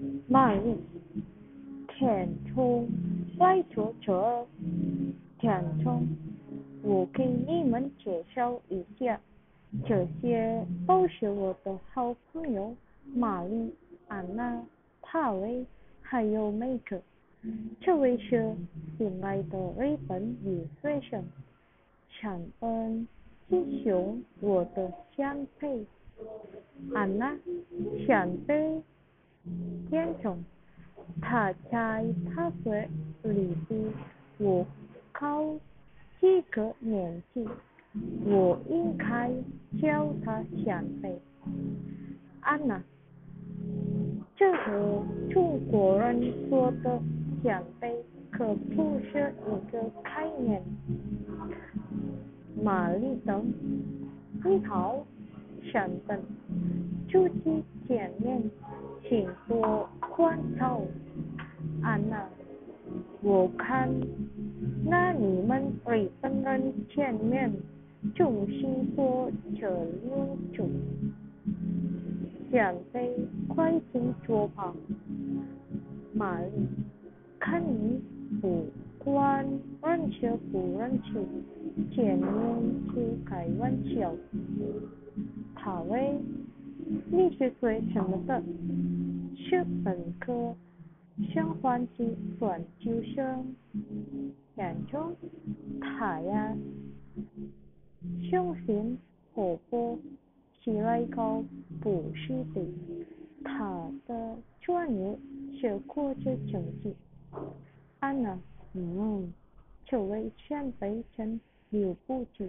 玛丽，填充外作者填充，我给你们介绍一下，这些都是我的好朋友玛丽、安娜、塔维还有梅格。这位是新来的日本留学生，山本吉雄，我的先辈。安娜，想被变种，他在大学里比我高几个年级，我应该叫他前辈。安娜，这和中国人说的前辈可不是一个概念。玛丽等，你好，山本，初次见面，请多关照。安娜，我看那你们日本人见面总是说这六种，前辈快请坐吧。玛丽，看你不管认识不认识，见面就开玩笑。塔威，你是学什么的？是本科，相关系研究生。研究，他呀，相信活泼，起来高不是的。他的专业是国际经济。安娜，这位前辈真了不起。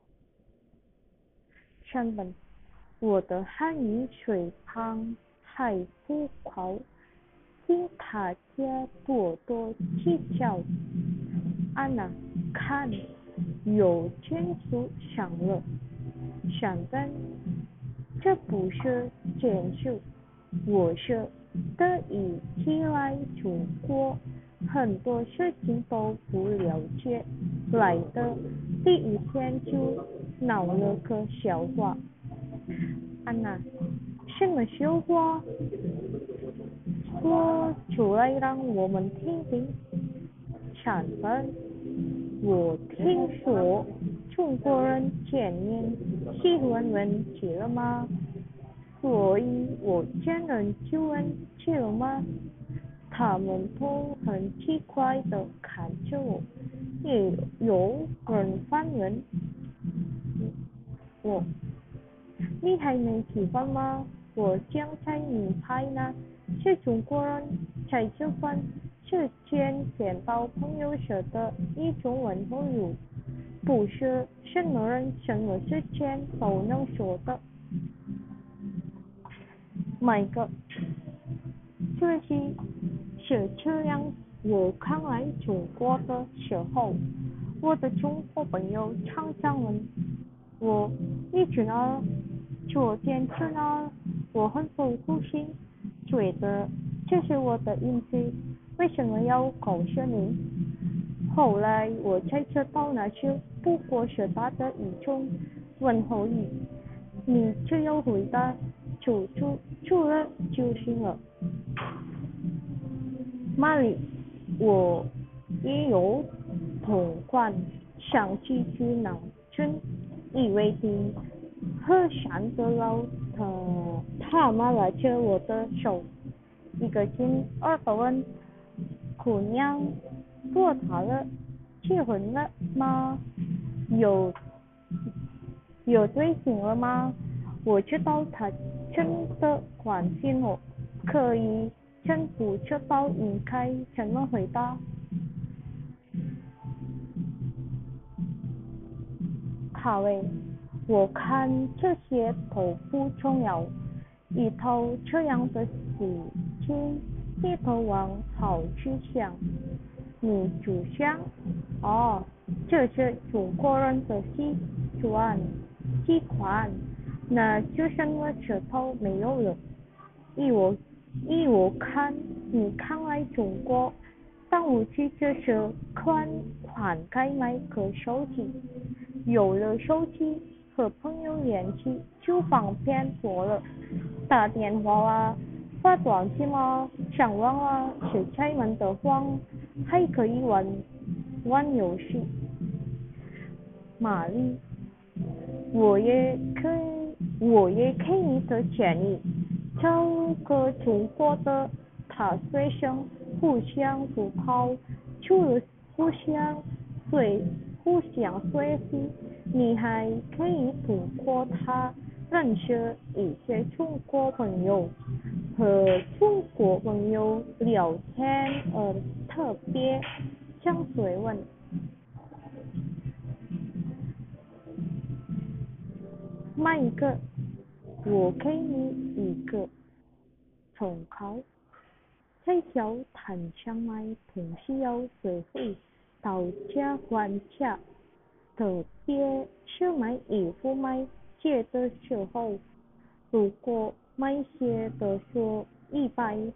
山本，我的汉语水平还不高，请大家多多指教。安娜，看，有建筑上了。山本，这不是建筑，我是第一次来中国，很多事情都不了解，来的第一天就闹了个笑话。安娜，什么笑话？说出来让我们听听。山本，我听说中国人见面喜欢问起了吗？所以我见人就问起了吗？他们都很奇怪的看着我，也有人反问我，你还没喜欢吗？我将在你拍呢，是中国人才喜欢，是见到朋友时的一种问候语，不是什么人什么事情都能说的。每个是这样，我刚来中国的时候，我的中国朋友常常问我，你去哪儿？昨天去哪儿？我很不高兴，觉得这是我的隐私，为什么要告诉你？后来我才知道那是不过是他的一种问候语，你只要回答住了就行了。玛丽，我也有同感，想起去南京，以为的和善的老他妈拉着我的手，一个劲儿的问，姑娘多大了？结婚了吗？有有对象了吗？我知道他真的关心我，可以真不知道应该怎么回答。卡维，我看这些都不重要，一头这样的事情，一头往好去想。你就想，哦，这是中国人的习惯，那就什么石头没有了。依我看，你刚来中国，当务之急是该买个手机，有了手机和朋友联系就方便多了，打电话啊， 发短信吗？想玩啊，是开门的话还可以玩游戏。玛丽，我也可以的建议，找个中国的大学生互相补考，除了互相随互相学习，你还可以通过他认识一些中国朋友，和中国朋友聊天，特别想追问。买一个，我给你一个重考。在教谈上买，同时要学会讨价还价，特别是买衣服买鞋的时候，如果买鞋的说100，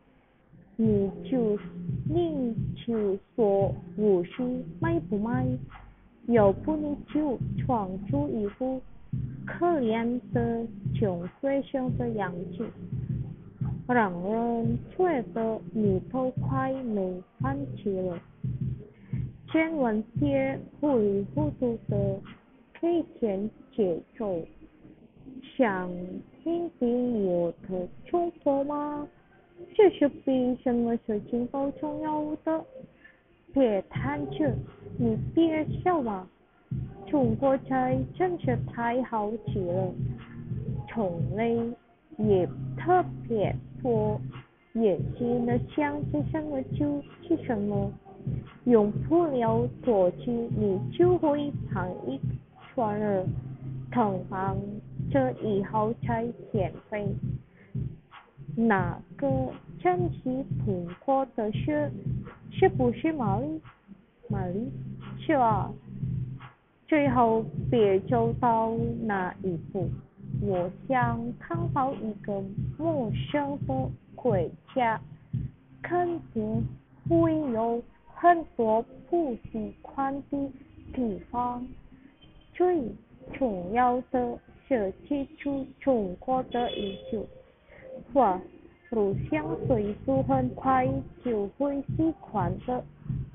你就说50，买不买？要不你就穿出一副可怜的穷学生的样子，让人觉得你都快没饭吃了。千万别糊里糊涂的给钱节奏。想听听我的中国吗？这是比什么事情都重要的。别贪吃，你别笑嘛。中国菜真是太好吃了，种类也特别多，也是能想吃什么就吃什么。用不了多久，你就会胖一圈儿。同行这以后才减肥。哪个真是通过的事？是不是玛丽？玛丽？是啊。最后别走到那一步。我想看到一个陌生的国家，肯定会有很多不习惯的地方。最重要的是记住中国的一句话：路上岁数很快就会习惯的。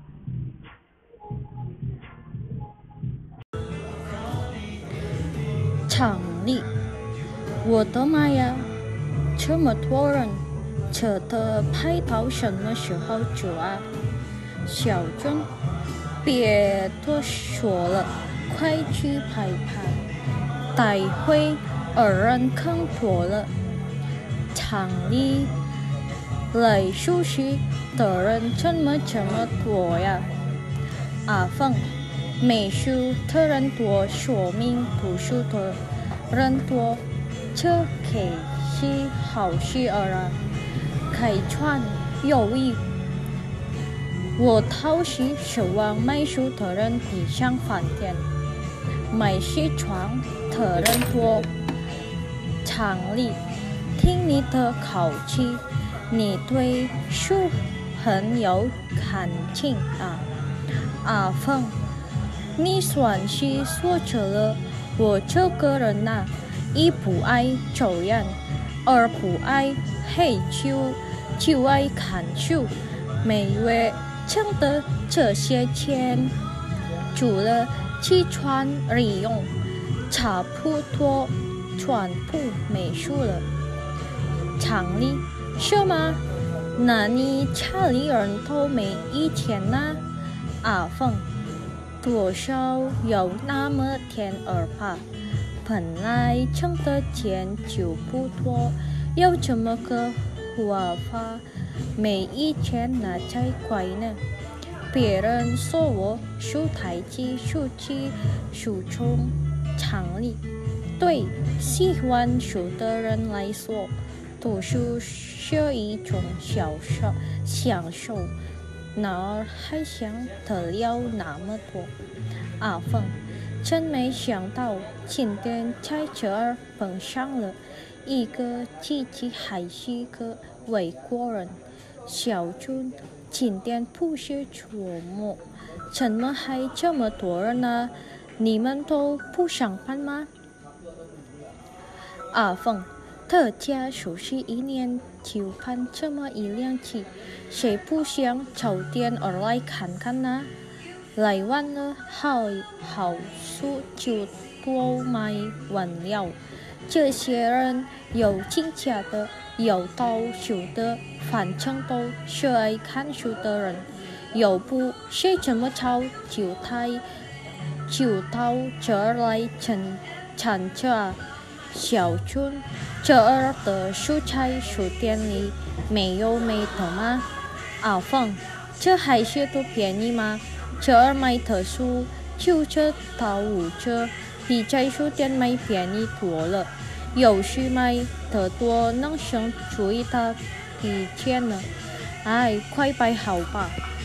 场里，我的妈呀，这么多人，这的拍到什么时候走啊？小郑，别多说了，快去拍拍，待会儿人更多了。场里来熟悉的人怎么这么多呀？阿凤，美术的人多，说明读书的人多，这可是好事儿啊！开创有益。我倒是希望卖书的人比上饭店，买西装的人多。厂里，听你的口气，你对书很有感情啊！阿凤，你算是说着了，我这个人呐，一不爱走人，二不爱黑就爱看书，每月挣的这些钱，除了吃穿日用，差不多全部没数了。厂里是吗？那你家里人都没一钱呢？阿凤，多少有那么点儿吧，本来挣的钱就不多，有这么个活法，没一钱那才怪呢。别人说我数台机、数机、数虫常理，对喜欢数的人来说，读书是一种享受。哪儿还想得了那么多？阿凤，真没想到今天在这儿碰上了一个自己还是个外国人。小俊，今天不是周末，怎么还这么多人呢？你们都不上班吗？阿凤， 特价51年就盼这么一辆机，谁不想早点而来看看呢？来晚了，好书就都卖完了。这些人有进价的，有到手的，反正都是爱看书的人。要不谁这么早就到这儿来参加？小俊，这儿的蔬菜书店里没有卖的吗？阿凤，这还是不便宜吗？这儿卖的书9折到5折，比在书店卖便宜多了。有时买得多能省最大笔钱呢。哎，快摆好吧。